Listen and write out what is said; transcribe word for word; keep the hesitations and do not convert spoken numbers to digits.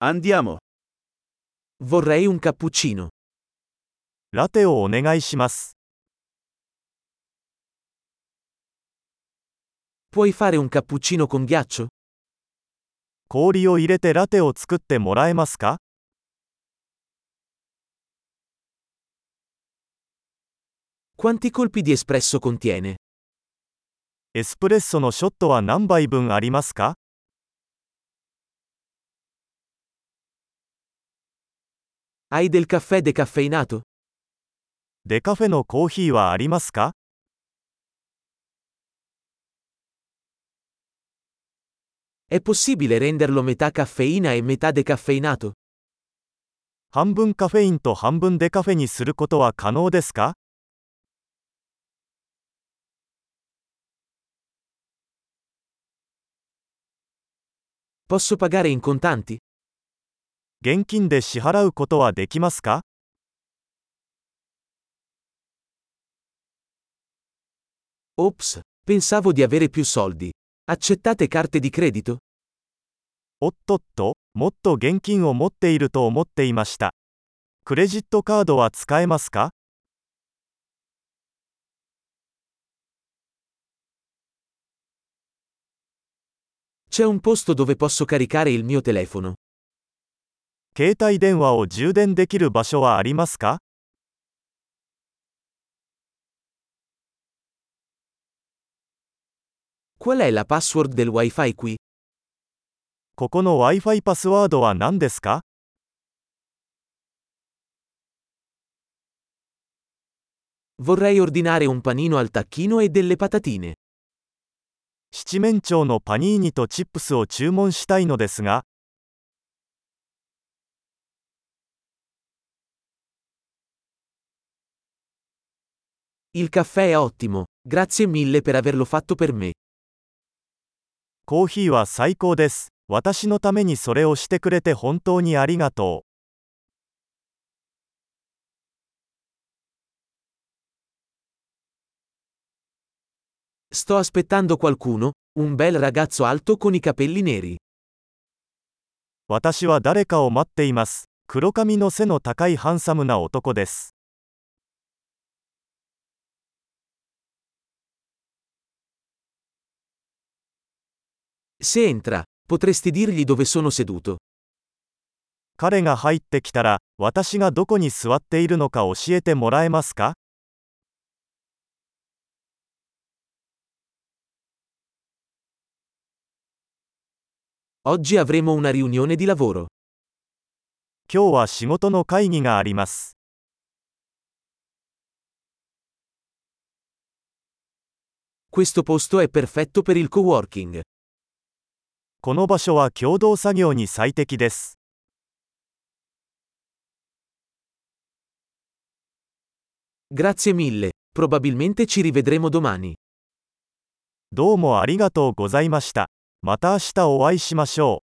Andiamo. Vorrei un cappuccino. ラテをお願いします。 Puoi fare un cappuccino con ghiaccio? 氷を入れてラテを作ってもらえますか？ Quanti colpi di espresso contiene? エスプレッソのショットは何杯分ありますか？ Hai del caffè decaffeinato? デカフェのコーヒーはありますか？ È possibile renderlo metà caffeina e metà decaffeinato? 半分カフェインと半分デカフェにすることは可能ですか？ Posso pagare in contanti? 現金で支払うことはできますか？ Ops, pensavo di avere più soldi. Accettate carte di credito? おっとっと、もっと現金を持っていると思っていました。クレジットカードは使えますか？ C'è un posto dove posso caricare il mio telefono. 携帯電話を充電できる場所はありますか？ Qual è la password del Wi-Fi qui? ここの Wi-Fi パスワードは何ですか？ Vorrei ordinare un panino al tacchino e delle patatine. 七面鳥のパニーニとチップスを注文したいのですが、 Il caffè è ottimo, grazie mille per averlo fatto per me. コーヒーは最高です。私のためにそれをしてくれて本当にありがとう。 Sto aspettando qualcuno, un bel ragazzo alto con i capelli neri. 私は誰かを待っています。黒髪の背の高いハンサムな男です。 Se entra, potresti dirgli dove sono seduto. 彼が入ってきたら、私がどこに座っているのか教えてもらえますか？ Oggi avremo una riunione di lavoro. 今日は仕事の会議があります。 Questo posto è perfetto per il coworking. この場所は共同作業に最適です。 Grazie mille, probabilmente ci rivedremo domani. どうもありがとうございました。また明日お会いしましょう。